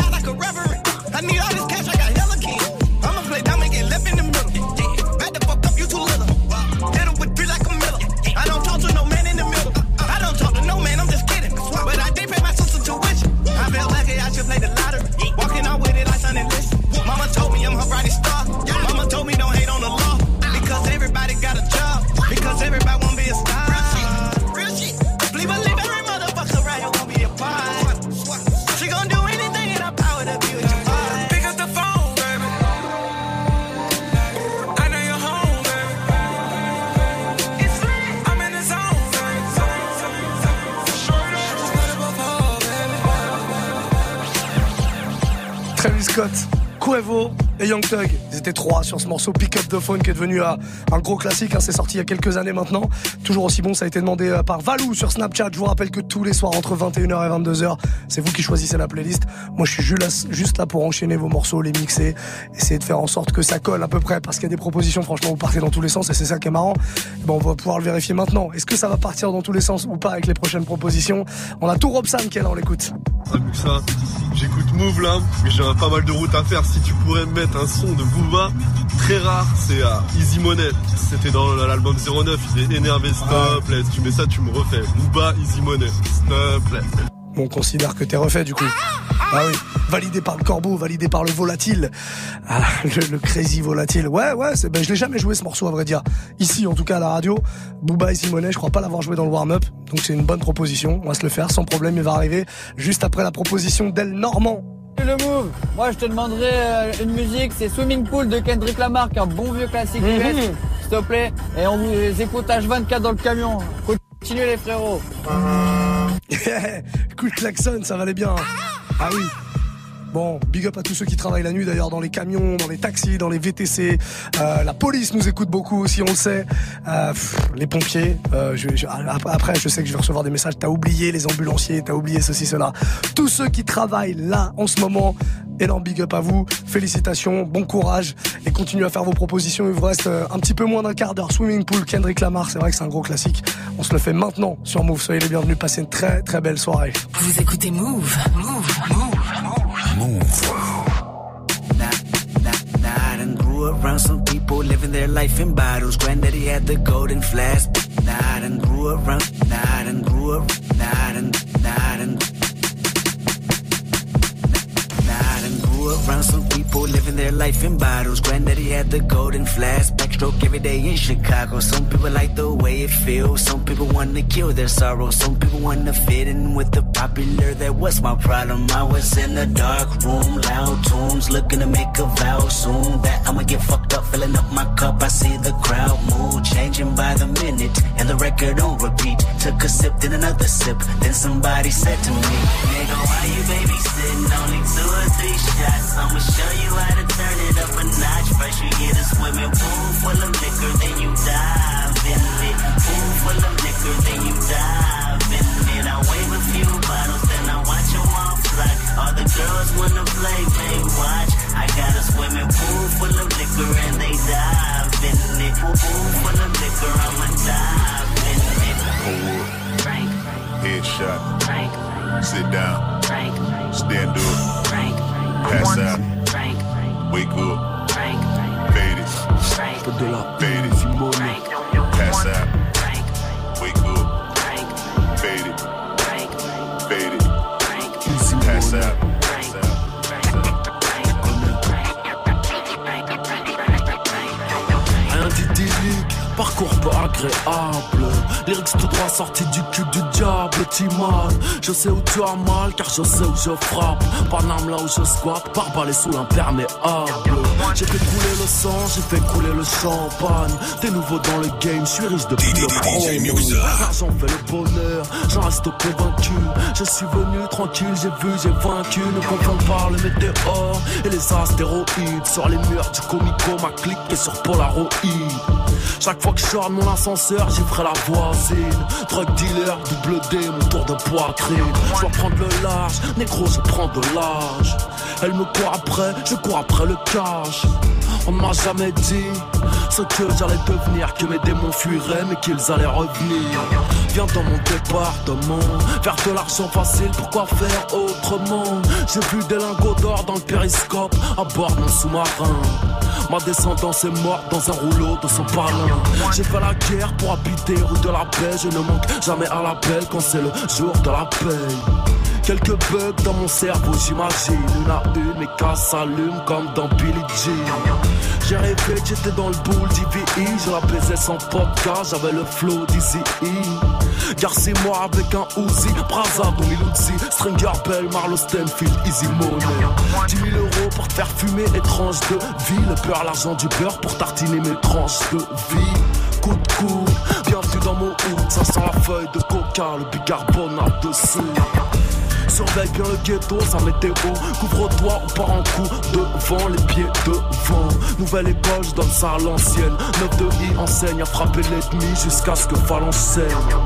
A: Scott, Quavo et Young Thug. Ils étaient 3 sur ce morceau Pick Up the Phone qui est devenu un gros classique. C'est sorti il y a quelques années maintenant. Toujours aussi bon, ça a été demandé par Valou sur Snapchat. Je vous rappelle que tous les soirs entre 21h et 22h, c'est vous qui choisissez la playlist. Moi je suis juste là pour enchaîner vos morceaux, les mixer, essayer de faire en sorte que ça colle à peu près, parce qu'il y a des propositions, franchement vous partez dans tous les sens et c'est ça qui est marrant. Bon, on va pouvoir le vérifier maintenant. Est-ce que ça va partir dans tous les sens ou pas avec les prochaines propositions? On a tout Robson qui est là, on l'écoute.
M: Salut ça, j'écoute Move là, mais j'aurais pas mal de route à faire. Si tu pourrais me mettre un son de Booba, très rare, c'est à Easy Money. C'était dans l'album 09, il est énervé, stop, là, si tu mets ça, tu me refais. Booba, Easy Money, stop, là.
A: Bon, on considère que t'es refait du coup. Ah oui, validé par le corbeau, validé par le volatile. Ah, le crazy volatile. Ouais, je l'ai jamais joué ce morceau à vrai dire. Ici, en tout cas à la radio, Booba et Simonet, je crois pas l'avoir joué dans le warm-up. Donc c'est une bonne proposition, on va se le faire sans problème, il va arriver juste après la proposition d'El Normand.
N: Le Move, moi je te demanderais une musique, c'est Swimming Pool de Kendrick Lamar, un bon vieux classique US, s'il te plaît. Et on vous écoute H24 dans le camion. Continuez les frérots.
A: Coup de klaxon, ça valait bien. Ah oui. Bon, big up à tous ceux qui travaillent la nuit d'ailleurs dans les camions, dans les taxis, dans les VTC. La police nous écoute beaucoup aussi, on le sait. Les pompiers. Après, je sais que je vais recevoir des messages. T'as oublié les ambulanciers, t'as oublié ceci, cela. Tous ceux qui travaillent là en ce moment, énorme big up à vous. Félicitations, bon courage et continuez à faire vos propositions. Il vous reste un petit peu moins d'un quart d'heure. Swimming Pool, Kendrick Lamar, c'est vrai que c'est un gros classique. On se le fait maintenant sur Move. Soyez les bienvenus. Passez une très très belle soirée.
P: Vous écoutez Move.
O: I done grew around some people living their life in bottles. Granddaddy had the golden flask. I done grew around some people living their life in bottles. Granddaddy had the golden flask. Backstroke every day in Chicago. Some people like the way it feels. Some people want to kill their sorrow. Some people want to fit in with the popular. That was my problem. I was in a dark room, loud tunes, looking to make a vow soon that I'ma get fucked up, filling up my cup. I see the crowd mood changing by the minute, and the record on repeat. Took a sip, then another sip. Then somebody said to me, nigga, why you babysitting? Only 2 or 3 shots. I'ma show you how to turn it up a notch. First you get a swimming pool full of liquor, then you dive in it. Pool full of liquor, then you dive in it. I wave a few bottles, then I watch them all fly. All the girls wanna play, they watch. I got a swimming pool full of liquor and they dive in it. Pool full of liquor, I'ma dive in it.
C: Forward.
P: Frank.
C: Headshot.
P: Frank.
C: Sit down.
P: Frank.
C: Stand up.
P: Frank.
C: Pass out.
P: Frank.
C: Wake up.
P: Frank.
C: Fade it.
P: Frank.
C: Fade it. Pass out.
P: Frank.
C: Wake up.
P: Frank.
C: Fade it.
P: Frank.
C: Fade it. Pass out.
X: Rien d'idyllique, parcours peu agréable. Lyrics tout droit sortis du cul du diable, Timan. Je sais où tu as mal, car je sais où je frappe. Paname là où je squatte, par balai sous l'imperméable. J'ai fait couler le sang, j'ai fait couler le champagne. T'es nouveau dans le game, je suis riche depuis le promo. L'argent fait le bonheur, j'en reste convaincu. Je suis venu tranquille, j'ai vu, j'ai vaincu. Ne confonds pas le météore et les astéroïdes. Sur les murs du comico, ma clique est sur Polaroid. Chaque fois que je sors de mon ascenseur, j'y ferai la voisine. Drug dealer, double D, mon tour de poitrine. Je dois prendre le large, négro, je prends de l'âge. Elle me court après, je cours après le cash. On ne m'a jamais dit ce que j'allais devenir, que mes démons fuiraient mais qu'ils allaient revenir. Viens dans mon département, faire de l'argent facile, pourquoi faire autrement? J'ai vu des lingots d'or dans le périscope à bord de mon sous-marin. Ma descendance est morte dans un rouleau de son parlin. J'ai fait la guerre pour habiter rue de la Paix. Je ne manque jamais à l'appel quand c'est le jour de la paix. Quelques bugs dans mon cerveau, j'imagine. Une à une, mes cas s'allument comme dans Billie Jean. J'ai rêvé que j'étais dans le boule d'IVI. Je la baisais sans podcast, j'avais le flow d'Easy E. Garcez-moi avec un Uzi, Braza, Don Miluzzi, Stringer Bell, Marlo Stenfield, Easy Money. 10 000 € pour te faire fumer, étrange de vie. Le beurre, l'argent du beurre pour tartiner mes tranches de vie. Coup de coude, bienvenue dans mon hood. Ça sent la feuille de coca, le bicarbonate dessus. surveille bien le ghetto, sa météo. Couvre-toi, on part en coup devant, les pieds devant. Nouvelle école, je donne ça à l'ancienne. 9 de I enseigne à frapper l'ennemi jusqu'à ce que Fall enseigne.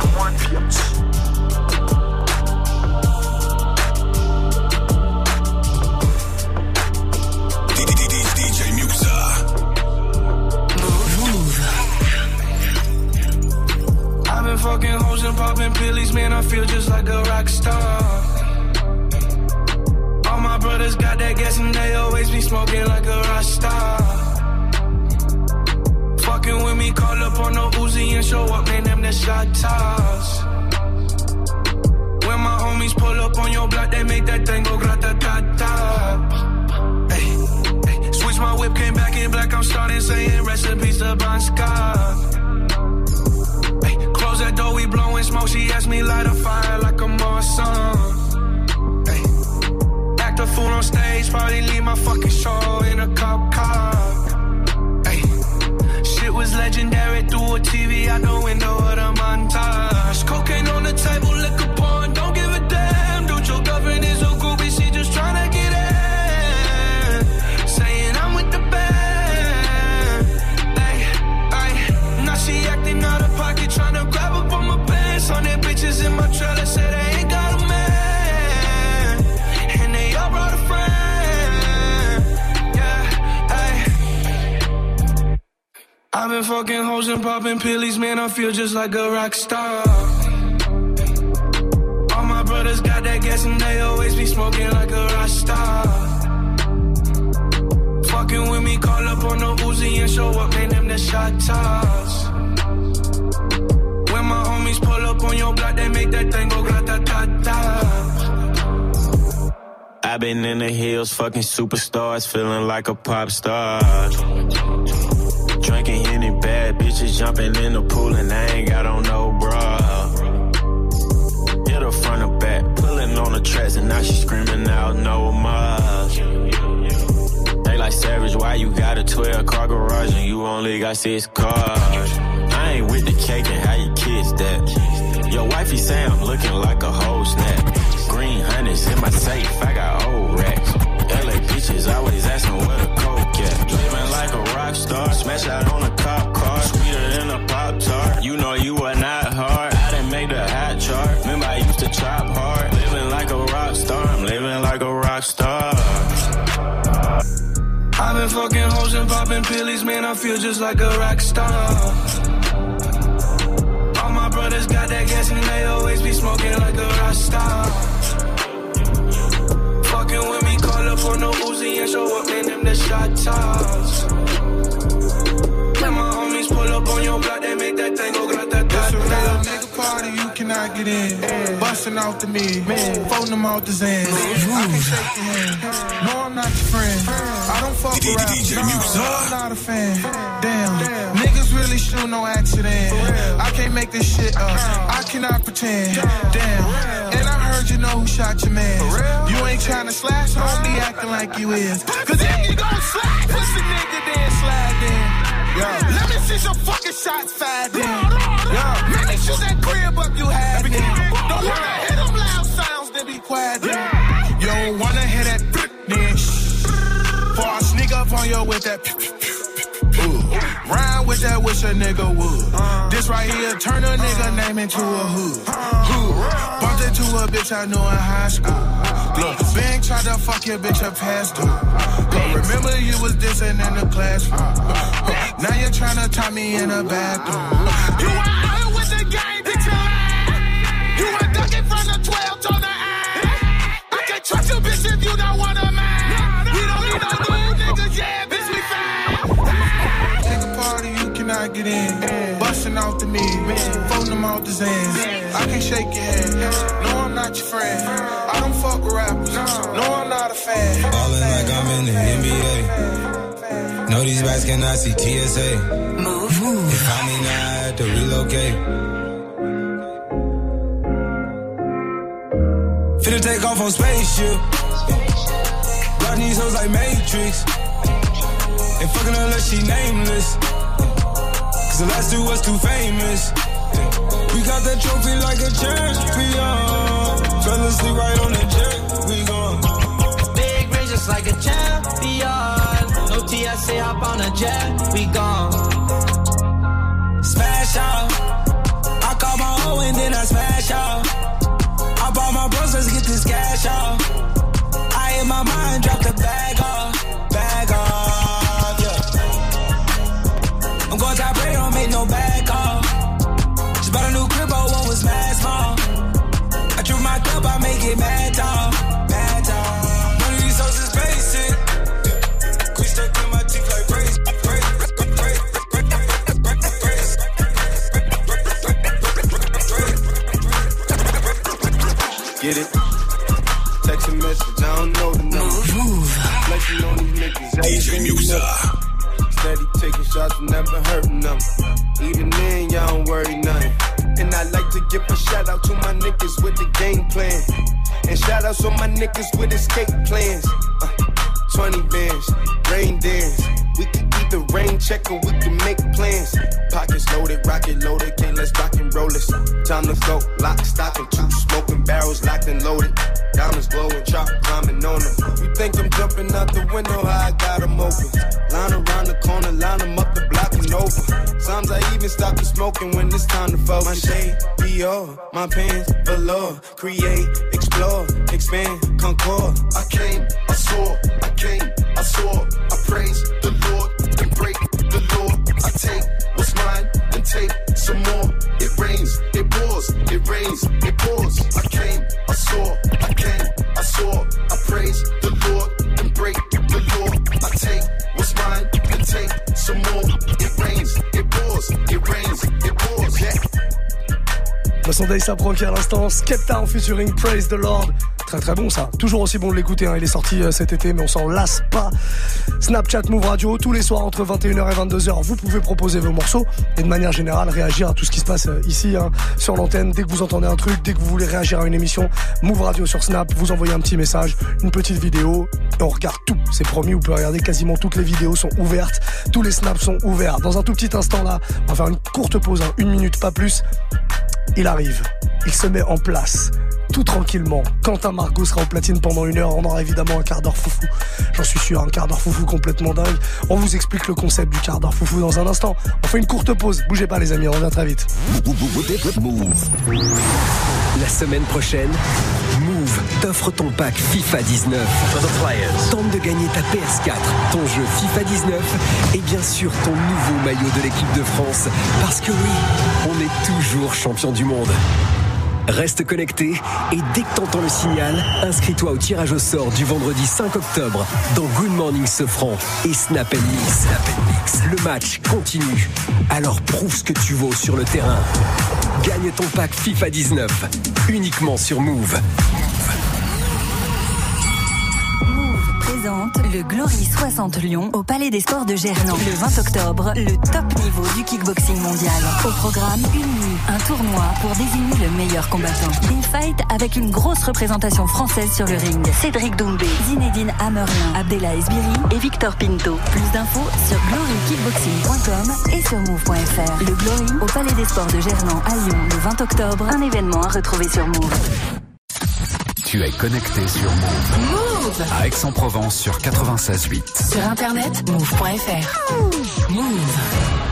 C: DJ Muxa.
E: I've been fucking hoes and popping pillies, man, I feel just like a rock star. All my brothers got that gas and they always be smoking like a rock star. Fucking with me, call up on no Uzi and show up, man, them the shot toss. When my homies pull up on your block, they make that thing go grata-ta-ta. Hey, switch my whip, came back in black, I'm starting saying recipes to Bon Scott. Hey, close that door, we blowing smoke, she asked me light a fire like a Marsan. Hey, act a fool on stage, probably leave my fucking show in a cop car. Shit was legendary through a TV out the window of the montage. Cocaine on the table, liquor porn, don't give a damn. Dude, your girlfriend is a groupie, she just tryna get in. Saying I'm with the band. Ay, ay. Now she acting out of pocket, tryna grab up on my pants. On their bitches in my trailer, say they ain't got a man. And they all brought a friend. I've been fucking hoes and popping pillies, man, I feel just like a rock star. All my brothers got that gas and they always be smoking like a rock star. Fucking with me, call up on no Uzi and show up, man, them the shot toss. When my homies pull up on your block, they make that thing go grata-ta-ta.
G: I've been in the hills, fucking superstars, feeling like a pop star. Drinking any bad bitches, jumping in the pool and I ain't got on no bra. Hit her front or back, pulling on the tracks and now she screaming out no more. They like Savage, why you got a 12-car garage and you only got 6 cars? I ain't with the cake and how you kids that. Your wifey say I'm looking like a whole snap. Green hundreds in my safe, I got old racks. LA bitches always asking where the coke at. Living like a rock star, smash out on a cop car, sweeter than a Pop-Tart. You know you are not hard, I done made the hot chart. Remember I used to chop hard, living like a rock star, I'm living like a rock star.
E: I've been fucking hoes and popping pillies, man, I feel just like a rock star. All my brothers got that gas and they always be smoking like a rock star. Fucking with me, call up on no Uzi and show up, man, them the shot toss. When my homies pull up on your block, they make that thing go grata-ta-ta.
S: It's a real nigga party, you cannot get in. Busting off the me, folding them out the Zan. I can shake your hand, no I'm not your friend. I don't fuck around, no I'm not a fan. Damn, niggas really shoot no accident. I can't make this shit up, I cannot pretend. Damn, and I heard you know who shot your man. You ain't tryna slash, don't be acting like you is. Cause if you gon' slide, push the nigga then slide then. Yo, let me see some fucking shots fired then. Yo, let me shoot that crib up you had then. Don't wanna hear them loud sounds, then be quiet then. You don't wanna hear that then. Before I sneak up on you with that. Rhyme with that, wish a nigga would. This right here, turn a nigga name into a hood. Bumped into a bitch I knew in high school. Look, Bang tried to fuck your bitch up past due. But remember you was dissing in the classroom. Now you're trying to tie me in a bathroom. You were out with the gang, bitch, you lying. You were ducking from the 12 on the eye. I can't trust you, bitch, if you don't want a man. We don't need no new niggas, yeah, bitch, we fine. Nigga party, you cannot get in. Busting off the me, folding them out the Zans. I can't shake your hand, no, I'm not your friend. I don't fuck with rappers, no, I'm not a fan.
Q: Ballin' like I'm in the NBA. No, these bats cannot see TSA.
P: Move.
Q: They find me now, I had to relocate. Finna take off on spaceship. Block these hoes like Matrix. Ain't fucking unless she nameless. Cause the last two was too famous. We got that trophy like a champion. Fell asleep right on the jet, we gone.
R: Big range just like a champion. No TSA, hop on a jet, we gone.
Q: Smash out. I call my hoe and then I smash out. I bought my bros, let's get this cash out. I in my mind, drop the bag off, yeah. I'm going top rate, don't make no back off. Just bought a new crib, but one was mad small. I drew my cup, I make it mad tall, mad tall. One of these hoes is basic. Quick stuck in my teeth like brace.
T: Get it? Text a message, I don't know the number. Flexing on these niggas,
C: DJ Muxa.
T: Steady taking shots, never hurting them. Even then, y'all don't worry nothing. And I like to give a shout out to my niggas with the game plan. And shout outs to my niggas with escape plans. 20 bands, rain dance. We can either rain check or we can make plans. Pockets loaded, rocket loaded, can't let's rock and roll this. Time to go, lock, stock, and two smoking barrels locked and loaded. Diamonds glowing, chop climbing on them. You think I'm jumping out the window, how I got them open. Line around the corner, line them up the block and over. Sometimes I even stop the smoking when it's time to focus. My shade, Dior, my pants, velour. Create, explore, expand, concord. I came, I saw, I came, I saw. I praise the Lord, then break the law. I take what's mine, then take some more. It rains, it pours, it rains, it pours. I came, I saw, I came, I saw. I praise the Lord, then break the law. I take what's mine, then take some more. It rains, it pours, it rains, it pours. Yeah.
A: Sunday Sapro qui à l'instant, Skepta en featuring Praise the Lord. Très très bon ça, toujours aussi bon de l'écouter, hein. Il est sorti cet été mais on s'en lasse pas. Snapchat Move Radio, tous les soirs entre 21h et 22h, vous pouvez proposer vos morceaux et de manière générale réagir à tout ce qui se passe ici, hein, sur l'antenne. Dès que vous entendez un truc, dès que vous voulez réagir à une émission, Move Radio sur Snap, vous envoyez un petit message, une petite vidéo et on regarde tout, c'est promis, vous pouvez regarder quasiment toutes les vidéos sont ouvertes, tous les snaps sont ouverts. Dans un tout petit instant là, on va faire une courte pause, hein, 1 minute pas plus. Il arrive, il se met en place, tout tranquillement. Quentin Margot sera au platine pendant 1 heure, on aura évidemment un quart d'heure foufou. J'en suis sûr, un quart d'heure foufou complètement dingue. On vous explique le concept du quart d'heure foufou dans un instant. On fait une courte pause, bougez pas les amis, on revient très vite.
U: La semaine prochaine, Move t'offre ton pack FIFA 19. Tente de gagner ta PS4, ton jeu FIFA 19 et bien sûr ton nouveau maillot de l'équipe de France. Parce que oui, on est toujours champion du monde. Reste connecté et dès que t'entends le signal, inscris-toi au tirage au sort du vendredi 5 octobre dans Good Morning Sofran et Snap Mix. Le match continue, alors prouve ce que tu vaux sur le terrain. Gagne ton pack FIFA 19, uniquement sur Move.
V: Le Glory 60 Lyon au Palais des Sports de Gerland. Le 20 octobre, le top niveau du kickboxing mondial. Au programme, une nuit, un tournoi pour désigner le meilleur combattant. Des fights avec une grosse représentation française sur le ring. Cédric Doumbé, Zinedine Hammerlin, Abdella Esbiri et Victor Pinto. Plus d'infos sur glorykickboxing.com et sur move.fr. Le Glory au Palais des Sports de Gerland à Lyon le 20 octobre. Un événement à retrouver sur Move.
Y: Tu es connecté sur Move.
V: Move
Y: à Aix-en-Provence sur 96.8.
V: Sur internet, move.fr. Move.